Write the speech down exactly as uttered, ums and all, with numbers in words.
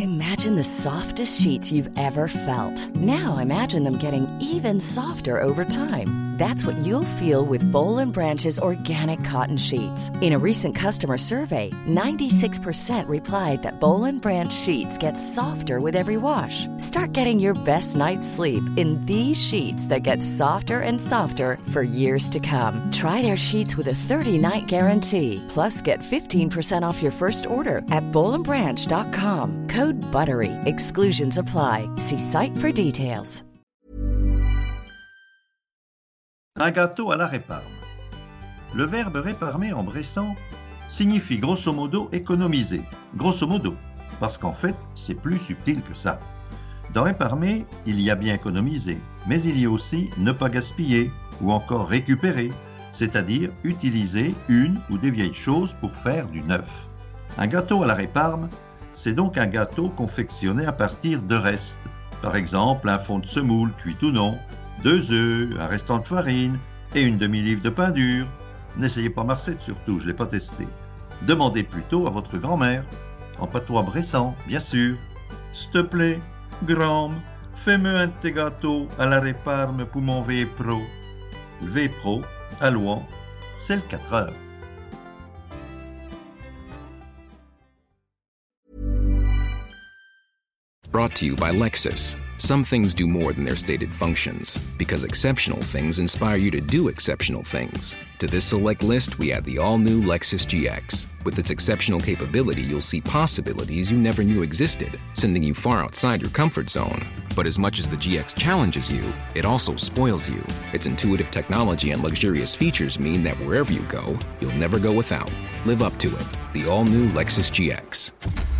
Imagine the softest sheets you've ever felt. Now imagine them getting even softer over time. That's what you'll feel with Boll and Branch's organic cotton sheets. In a recent customer survey, ninety-six percent replied that Boll and Branch sheets get softer with every wash. Start getting your best night's sleep in these sheets that get softer and softer for years to come. Try their sheets with a thirty-night guarantee. Plus, get fifteen percent off your first order at boll and branch dot com. Code BUTTERY. Exclusions apply. See site for details. Un gâteau à la réparme. Le verbe réparmer en bressan signifie grosso modo économiser. Grosso modo, parce qu'en fait, c'est plus subtil que ça. Dans réparmer, il y a bien économiser, mais il y a aussi ne pas gaspiller ou encore récupérer, c'est-à-dire utiliser une ou des vieilles choses pour faire du neuf. Un gâteau à la réparme, c'est donc un gâteau confectionné à partir de restes. Par exemple, un fond de semoule, cuit ou non, deux œufs, un restant de farine et une demi-livre de pain dur. N'essayez pas marcette surtout, je ne l'ai pas testé. Demandez plutôt à votre grand-mère, en patois bressan, bien sûr. S'il te plaît, grand, fais-moi un de tes gâteaux à la réparme pour mon V Pro. Le V Pro, à Louan, c'est le quatre heures. Brought to you by Lexus. Some things do more than their stated functions, because exceptional things inspire you to do exceptional things. To this select list, we add the all-new Lexus G X. With its exceptional capability, you'll see possibilities you never knew existed, sending you far outside your comfort zone. But as much as the G X challenges you, it also spoils you. Its intuitive technology and luxurious features mean that wherever you go, you'll never go without. Live up to it. The all-new Lexus G X.